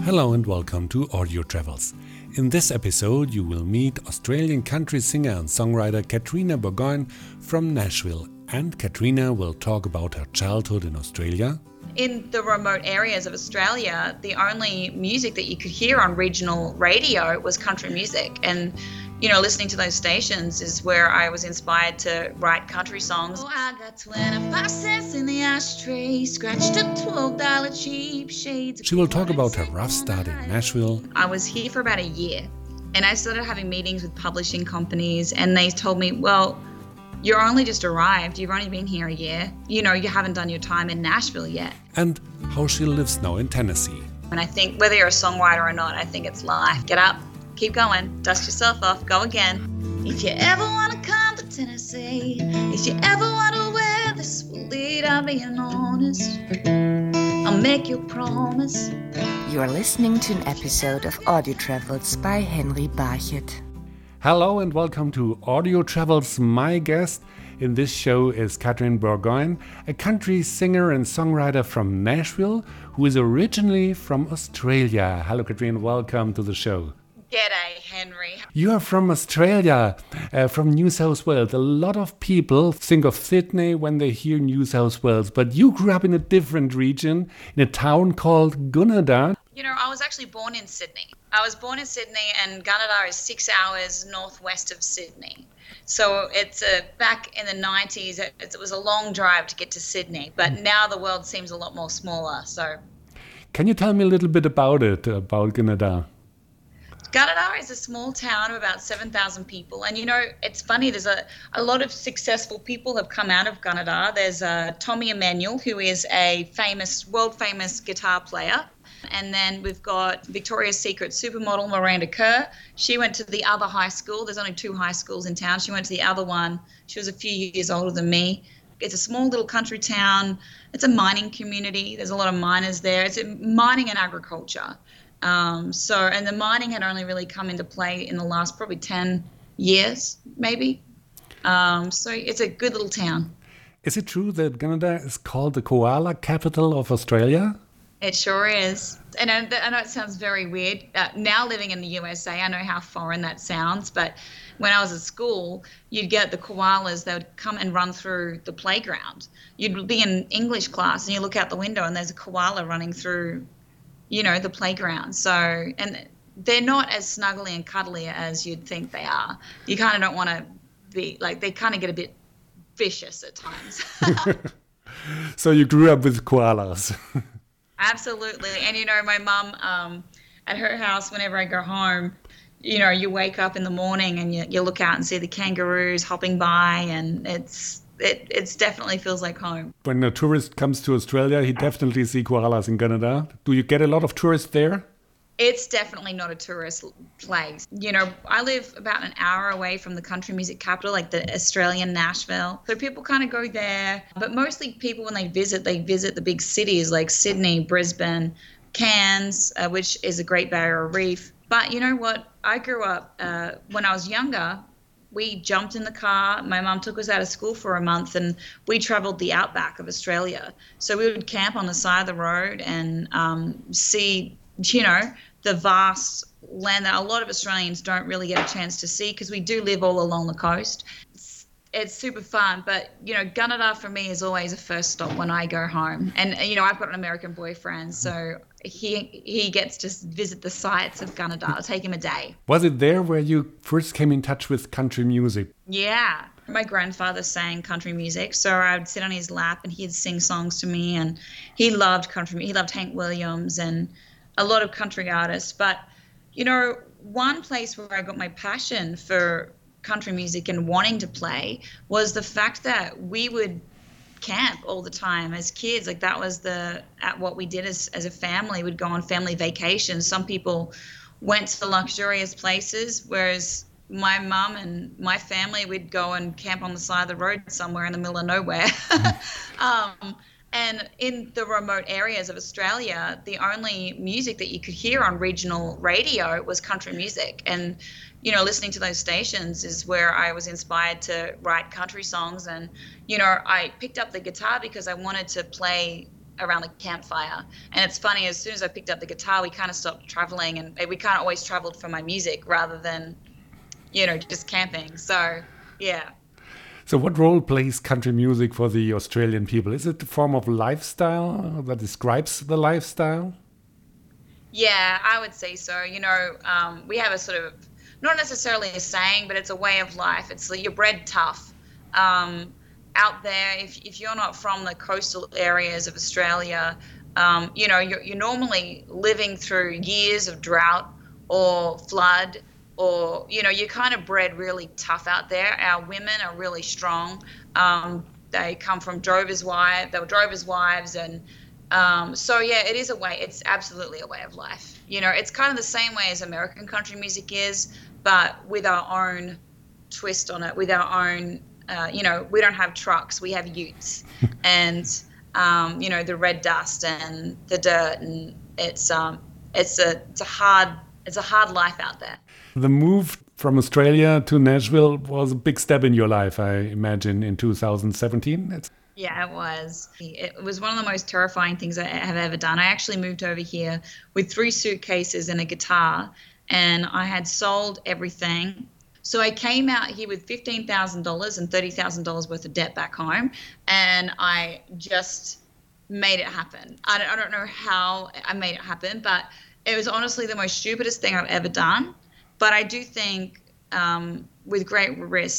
Hello and welcome to Audio Travels. In this episode, you will meet Australian country singer and songwriter Katrina Burgoyne from Nashville. And Katrina will talk about her childhood in Australia. In the remote areas of Australia, the only music that you could hear on regional radio was country music. And, listening to those stations is where I was inspired to write country songs. Oh, I got 25 cents in the ashtray, scratched up $12 cheap shades. She will talk about her rough start in Nashville. I was here for about a year, and I started having meetings with publishing companies, and they told me, well, you're only just arrived. You've only been here a year. You haven't done your time in Nashville yet. And how she lives now in Tennessee. And I think whether you're a songwriter or not, I think it's life. Get up, keep going, dust yourself off, go again. If you ever want to come to Tennessee, if you ever wonder where this will lead, I'm being honest. I'll make you a promise. You are listening to an episode of Audio Travels by Henry Barchett. Hello and welcome to Audio Travels. My guest in this show is Katrina Burgoyne, a country singer and songwriter from Nashville who is originally from Australia. Hello Katrina, welcome to the show. G'day, Henry. You are from Australia, from New South Wales. A lot of people think of Sydney when they hear New South Wales, but you grew up in a different region, in a town called Gunnedah. I was actually born in Sydney. I was born in Sydney, and Gunnedah is 6 hours northwest of Sydney. So it's back in the 90s, it was a long drive to get to Sydney, but now the world seems a lot more smaller. So, can you tell me a little bit about Gunnedah? Gunnedah is a small town of about 7,000 people. And, it's funny, there's a lot of successful people have come out of Gunnedah. There's Tommy Emmanuel, who is a world-famous guitar player. And then we've got Victoria's Secret supermodel Miranda Kerr. She went to the other high school. There's only 2 high schools in town. She went to the other one. She was a few years older than me. It's a small little country town. It's a mining community. There's a lot of miners there. It's mining and agriculture. And the mining had only really come into play in the last probably 10 years, maybe. So it's a good little town. Is it true that Gunnedah is called the koala capital of Australia? It sure is. And I know it sounds very weird. Now living in the USA, I know how foreign that sounds, but when I was at school, you'd get the koalas, they would come and run through the playground. You'd be in English class and you look out the window and there's a koala running through the playground. So, and they're not as snuggly and cuddly as you'd think they are. You kind of don't want to be, they kind of get a bit vicious at times. So you grew up with koalas. Absolutely. And, my mum, at her house, whenever I go home, you wake up in the morning and you look out and see the kangaroos hopping by, and it definitely feels like home. When a tourist comes to Australia, he definitely sees koalas in Gunnedah. Do you get a lot of tourists there? It's definitely not a tourist place. I live about an hour away from the country music capital, like the Australian Nashville. So people kind of go there. But mostly people, when they visit the big cities like Sydney, Brisbane, Cairns, which is a Great Barrier Reef. But you know what? I grew up, when I was younger, we jumped in the car. My mum took us out of school for a month and we traveled the outback of Australia. So we would camp on the side of the road and see, the vast land that a lot of Australians don't really get a chance to see because we do live all along the coast. It's super fun, but, Gunnedah for me is always a first stop when I go home. And, I've got an American boyfriend, so he gets to visit the sites of Gunnedah. It'll take him a day. Was it there where you first came in touch with country music? Yeah. My grandfather sang country music, so I'd sit on his lap and he'd sing songs to me, and he loved country. He loved Hank Williams and a lot of country artists. But, one place where I got my passion for country music and wanting to play was the fact that we would camp all the time as kids. That was what we did as a family. We'd go on family vacations. Some people went to luxurious places, whereas my mum and my family would go and camp on the side of the road somewhere in the middle of nowhere. And in the remote areas of Australia, the only music that you could hear on regional radio was country music. And, listening to those stations is where I was inspired to write country songs. And, I picked up the guitar because I wanted to play around the campfire. And it's funny, as soon as I picked up the guitar, we kind of stopped traveling, and we kind of always traveled for my music rather than, just camping. So, yeah. So what role plays country music for the Australian people? Is it a form of lifestyle that describes the lifestyle? Yeah, I would say so. We have a sort of, not necessarily a saying, but it's a way of life. It's like you're bred tough. Out there, if you're not from the coastal areas of Australia, you're normally living through years of drought or flood, or, you're kind of bred really tough out there. Our women are really strong. They come from drovers' wives. They were drovers' wives, and so yeah, it is a way. It's absolutely a way of life. It's kind of the same way as American country music is, but with our own twist on it, with our own. We don't have trucks, we have utes, and the red dust and the dirt, and it's a hard life out there. The move from Australia to Nashville was a big step in your life, I imagine, in 2017. Yeah, it was. It was one of the most terrifying things I have ever done. I actually moved over here with 3 suitcases and a guitar, and I had sold everything. So I came out here with $15,000 and $30,000 worth of debt back home, and I just made it happen. I don't know how I made it happen, but it was honestly the most stupidest thing I've ever done. But I do think with great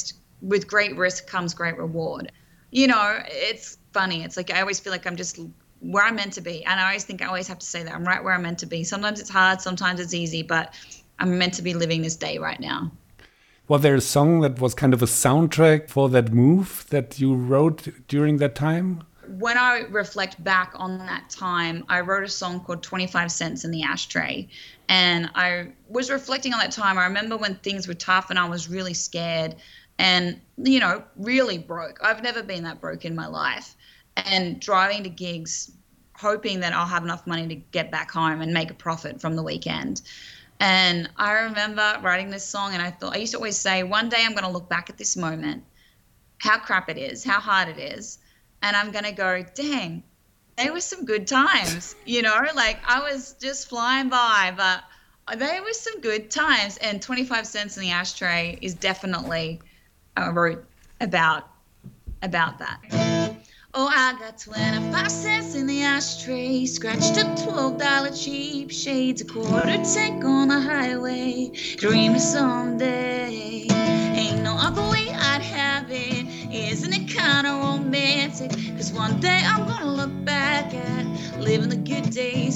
risk comes great reward. It's funny. It's like I always feel like I'm just where I'm meant to be, and I always think I always have to say that I'm right where I'm meant to be. Sometimes it's hard, sometimes it's easy, but I'm meant to be living this day right now. Was there a song that was kind of a soundtrack for that move that you wrote during that time? When I reflect back on that time, I wrote a song called 25 Cents in the Ashtray. And I was reflecting on that time. I remember when things were tough and I was really scared and, really broke. I've never been that broke in my life. And driving to gigs, hoping that I'll have enough money to get back home and make a profit from the weekend. And I remember writing this song, and I used to always say, one day I'm going to look back at this moment, how crap it is, how hard it is, and I'm going to go, dang, there were some good times, like I was just flying by, but there were some good times. And 25 Cents in the Ashtray is definitely wrote about that. Oh, I got 25 cents in the ashtray, scratched up $12 cheap shades, a quarter tank on the highway, dreaming someday. Ain't no other way I'd have it, isn't it kind of romantic? Cause one day I'm gonna look back at living the good days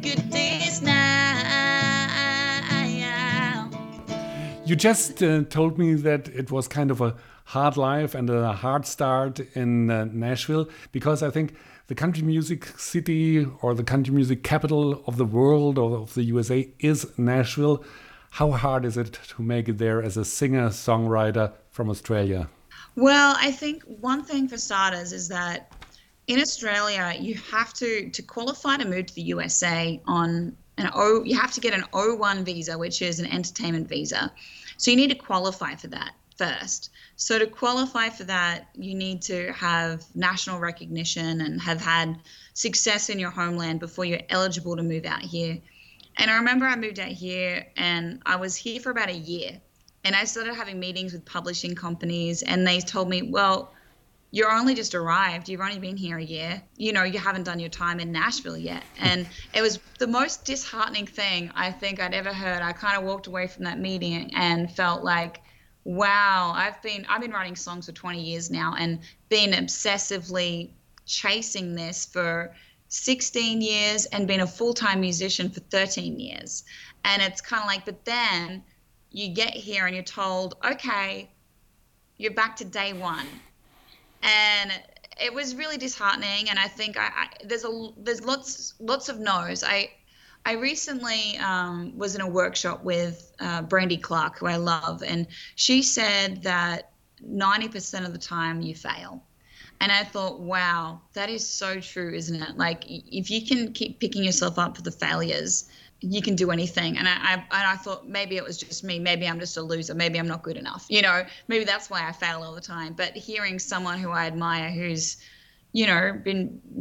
now. You just told me that it was kind of a hard life and a hard start in Nashville, because I think the country music city or the country music capital of the world or of the USA is Nashville. How hard is it to make it there as a singer-songwriter from Australia? Well, I think one thing for starters is that in Australia, you have to qualify to move to the USA you have to get an O1 visa, which is an entertainment visa. So you need to qualify for that first. So to qualify for that, you need to have national recognition and have had success in your homeland before you're eligible to move out here. And I remember I moved out here and I was here for about a year. And I started having meetings with publishing companies, and they told me, well, you're only just arrived. You've only been here a year. You haven't done your time in Nashville yet. And it was the most disheartening thing I think I'd ever heard. I kind of walked away from that meeting and felt like, wow, I've been writing songs for 20 years now and been obsessively chasing this for 16 years and been a full-time musician for 13 years. And it's kind of like, but then you get here and you're told, okay, you're back to day one. And it was really disheartening. And I think there's lots of no's. I recently was in a workshop with Brandy Clark, who I love, and she said that 90% of the time you fail. And I thought, wow, that is so true, isn't it? Like, if you can keep picking yourself up for the failures, you can do anything. And I thought maybe it was just me. Maybe I'm just a loser. Maybe I'm not good enough. Maybe that's why I fail all the time. But hearing someone who I admire, who's, been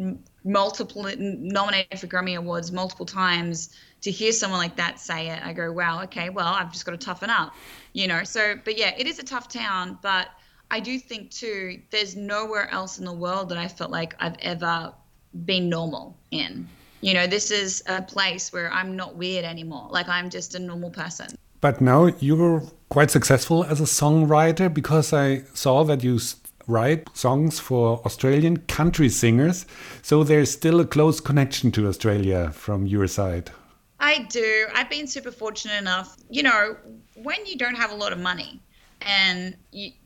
nominated for Grammy Awards multiple times, to hear someone like that say it, I go, wow, okay, well, I've just got to toughen up, So, but yeah, it is a tough town, but I do think too, there's nowhere else in the world that I felt like I've ever been normal in. This is a place where I'm not weird anymore. Like, I'm just a normal person. But now you're quite successful as a songwriter, because I saw that you write songs for Australian country singers. So there's still a close connection to Australia from your side. I do. I've been super fortunate enough, when you don't have a lot of money and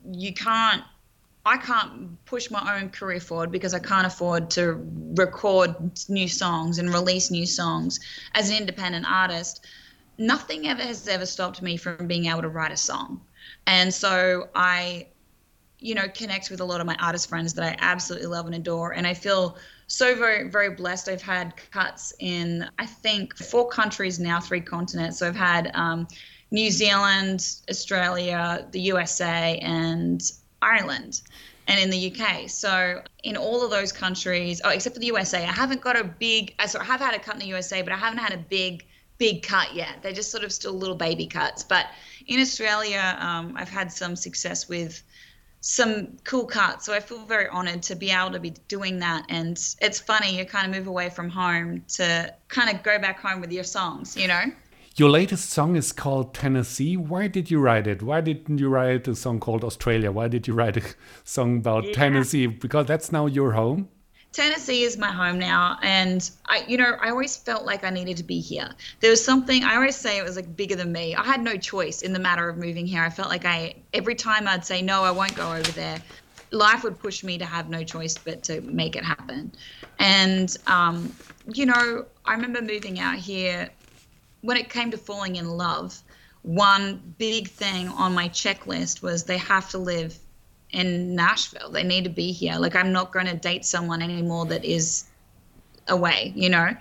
I can't push my own career forward because I can't afford to record new songs and release new songs as an independent artist. Nothing has ever stopped me from being able to write a song. And so I, connect with a lot of my artist friends that I absolutely love and adore. And I feel so very, very blessed. I've had cuts in, I think, 4 countries now, 3 continents. So I've had New Zealand, Australia, the USA, and Ireland, and in the UK. So in all of those countries, except for the USA, I haven't got a big, I have had a cut in the USA, but I haven't had a big cut yet. They're just sort of still little baby cuts. But in Australia, I've had some success with some cool cuts. So I feel very honored to be able to be doing that. And it's funny, you kind of move away from home to kind of go back home with your songs, Your latest song is called Tennessee. Why did you write it? Why didn't you write a song called Australia? Why did you write a song about Tennessee? Because that's now your home. Tennessee is my home now, and I always felt like I needed to be here. There was something, I always say it was like bigger than me. I had no choice in the matter of moving here. I felt like every time I'd say, no, I won't go over there, life would push me to have no choice but to make it happen. And, I remember moving out here. When it came to falling in love, one big thing on my checklist was they have to live in Nashville. They need to be here. Like, I'm not going to date someone anymore that is away,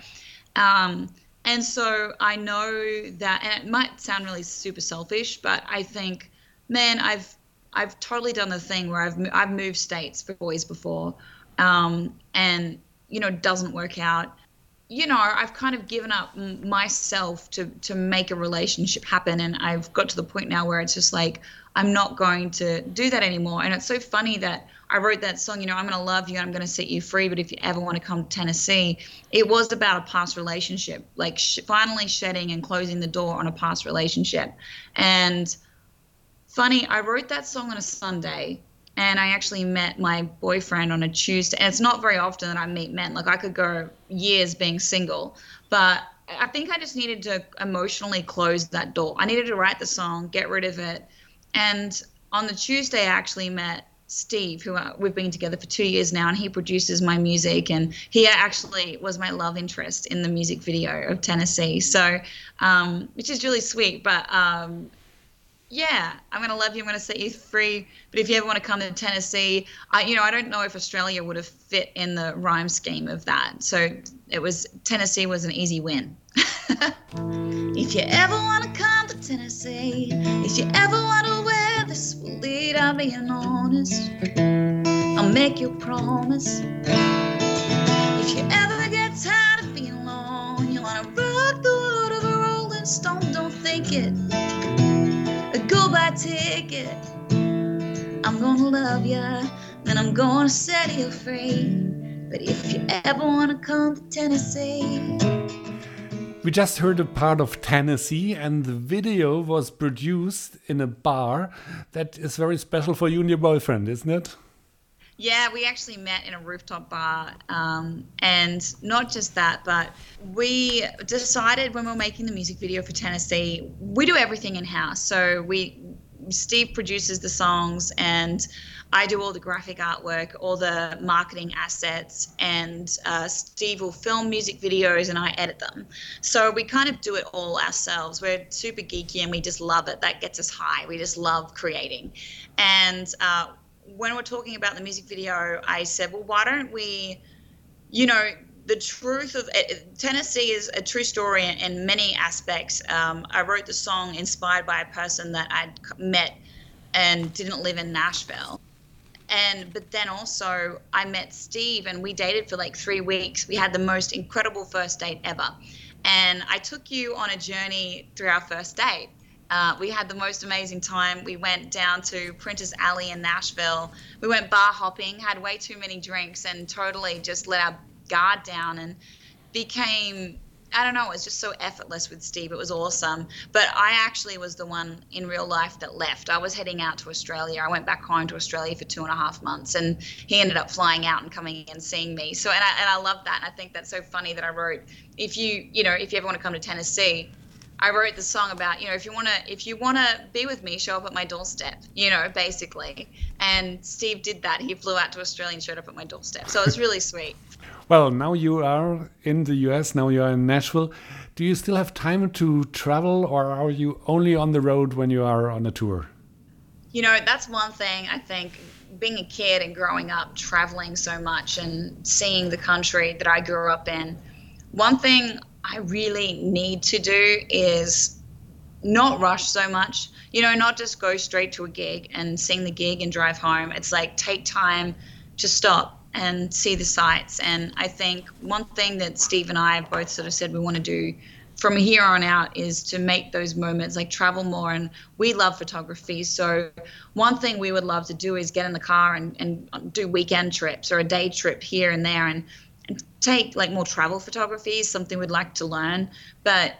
And so I know that, and it might sound really super selfish, but I think, man, I've totally done the thing where I've moved states for boys before, and it doesn't work out. I've kind of given up myself to make a relationship happen, and I've got to the point now where it's just like, I'm not going to do that anymore. And it's so funny that I wrote that song, I'm going to love you and I'm going to set you free, but if you ever want to come to Tennessee, it was about a past relationship, like finally shedding and closing the door on a past relationship. And funny, I wrote that song on a Sunday, and I actually met my boyfriend on a Tuesday. And it's not very often that I meet men. Like, I could go years being single, but I think I just needed to emotionally close that door. I needed to write the song, get rid of it. And on the Tuesday, I actually met Steve, who we've been together for 2 years now, and he produces my music, and he actually was my love interest in the music video of Tennessee. So, which is really sweet. But yeah, I'm going to love you. I'm going to set you free. But if you ever want to come to Tennessee, I don't know if Australia would have fit in the rhyme scheme of that. So Tennessee was an easy win. If you ever want to come to Tennessee, if you ever wonder where this will lead, I'm being honest. I'll make you a promise. If you ever get tired of being alone, you want to rock the world of a rolling stone, don't think it. Goodbye ticket. I'm gonna love ya, then I'm gonna set you free. But if you ever wanna come to Tennessee. We just heard a part of Tennessee, and the video was produced in a bar that is very special for you and your boyfriend, isn't it? Yeah, we actually met in a rooftop bar, and not just that, but we decided when we were making the music video for Tennessee, we do everything in-house. So Steve produces the songs, and I do all the graphic artwork, all the marketing assets, and Steve will film music videos and I edit them. So we kind of do it all ourselves. We're super geeky and we just love it. That gets us high. We just love creating. And when we're talking about the music video, I said, well, why don't we, the truth of Tennessee is a true story in many aspects. I wrote the song inspired by a person that I'd met and didn't live in Nashville. But then also I met Steve and we dated for like 3 weeks. We had the most incredible first date ever. And I took you on a journey through our first date. We had the most amazing time. We went down to Printers Alley in Nashville. We went bar hopping, had way too many drinks, and totally just let our guard down and became, I don't know, it was just so effortless with Steve. It was awesome. But I actually was the one in real life that left. I was heading out to Australia. I went back home to Australia for 2.5 months, and he ended up flying out and coming and seeing me. So, and I love that. And I think that's so funny that I wrote, if you ever want to come to Tennessee, I wrote the song about, if you want to be with me, show up at my doorstep, basically. And Steve did that. He flew out to Australia and showed up at my doorstep. So it was really sweet. Well, now you are in the US, now you are in Nashville. Do you still have time to travel, or are you only on the road when you are on a tour? That's one thing I think, being a kid and growing up, traveling so much and seeing the country that I grew up in. One thing I really need to do is not rush so much, not just go straight to a gig and sing the gig and drive home. It's like, take time to stop and see the sights. And I think one thing that Steve and I have both sort of said we want to do from here on out is to make those moments, like travel more. And we love photography. So one thing we would love to do is get in the car and do weekend trips or a day trip here and there and take like more travel photography, something we'd like to learn. But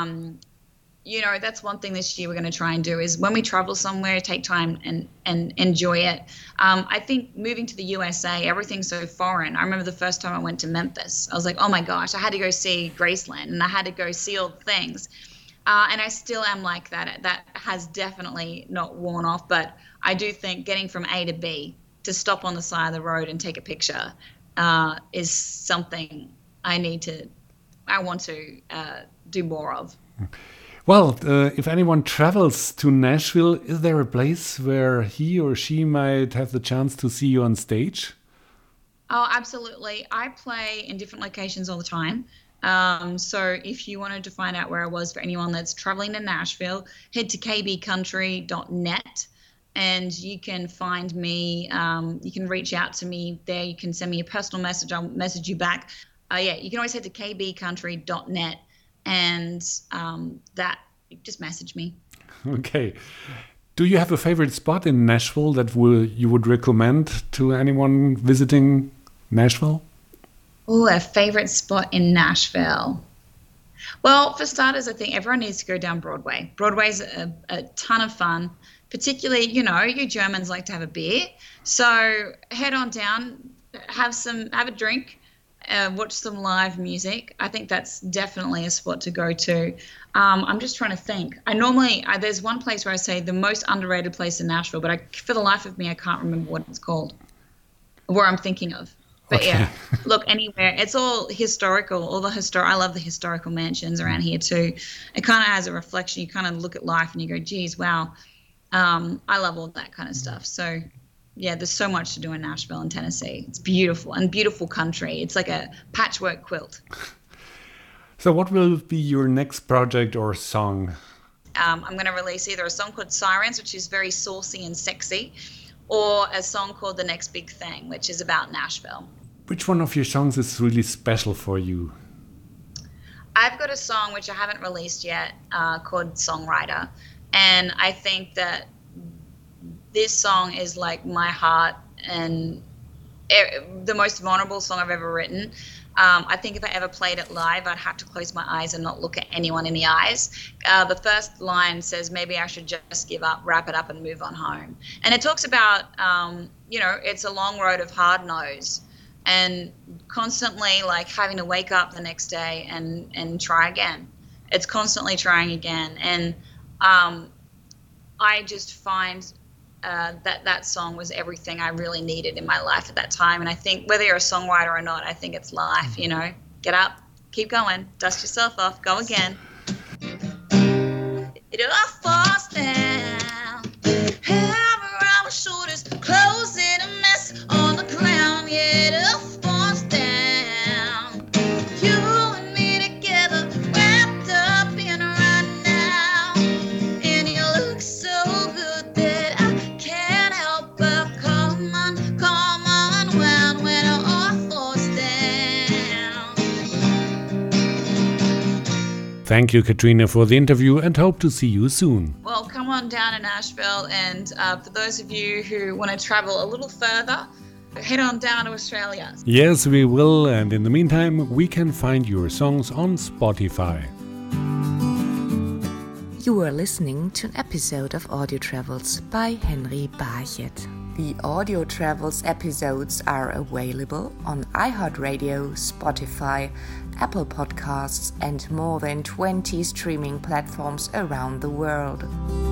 that's one thing this year we're going to try and do is when we travel somewhere, take time and enjoy it. I think moving to the USA, everything's so foreign. I remember the first time I went to Memphis, I was like, oh my gosh, I had to go see Graceland and I had to go see all the things. And I still am like that. That has definitely not worn off. But I do think getting from A to B, to stop on the side of the road and take a picture, is something I want to do more of. Well, if anyone travels to Nashville, is there a place where he or she might have the chance to see you on stage? Oh, absolutely. I play in different locations all the time. So if you wanted to find out where I was, for anyone that's traveling to Nashville, head to kbcountry.net and you can find me. You can reach out to me there. You can send me a personal message. I'll message you back. You can always head to kbcountry.net. And that, just message me. Okay. Do you have a favorite spot in Nashville that you would recommend to anyone visiting Nashville? Oh, a favorite spot in Nashville. Well, for starters, I think everyone needs to go down Broadway. Broadway's a ton of fun. Particularly, you Germans like to have a beer. So head on down, have a drink. Watch some live music. I think that's definitely a spot to go to. I'm just trying to think. There's one place where I say the most underrated place in Nashville, but for the life of me, I can't remember what it's called, where I'm thinking of. But okay. Yeah, look, anywhere. It's all historical. I love the historical mansions around here too. It kind of has a reflection. You kind of look at life and you go, geez, wow. I love all that kind of stuff. So yeah, there's so much to do in Nashville and Tennessee. It's beautiful and beautiful country. It's like a patchwork quilt. So what will be your next project or song? I'm going to release either a song called Sirens, which is very saucy and sexy, or a song called The Next Big Thing, which is about Nashville. Which one of your songs is really special for you? I've got a song which I haven't released yet called Songwriter. And I think that this song is like my heart and the most vulnerable song I've ever written. I think if I ever played it live, I'd have to close my eyes and not look at anyone in the eyes. The first line says, maybe I should just give up, wrap it up and move on home. And it talks about, it's a long road of hard no's and constantly like having to wake up the next day and try again. It's constantly trying again. And I just find that song was everything I really needed in my life at that time. And I think whether you're a songwriter or not, I think it's life, get up, keep going, dust yourself off, go again. It all falls down, hair around my shoulders, clothes in a mess on the ground, yeah, it all falls down. You and me together, wrapped up in right now, and you look so good that I can't help but come on. Thank you, Katrina, for the interview and hope to see you soon. Well, come on down to Nashville, and for those of you who want to travel a little further, head on down to Australia. Yes, we will, and in the meantime, we can find your songs on Spotify. You are listening to an episode of Audio Travels by Henry Barchet. The Audio Travels episodes are available on iHeartRadio, Spotify, Apple Podcasts, and more than 20 streaming platforms around the world.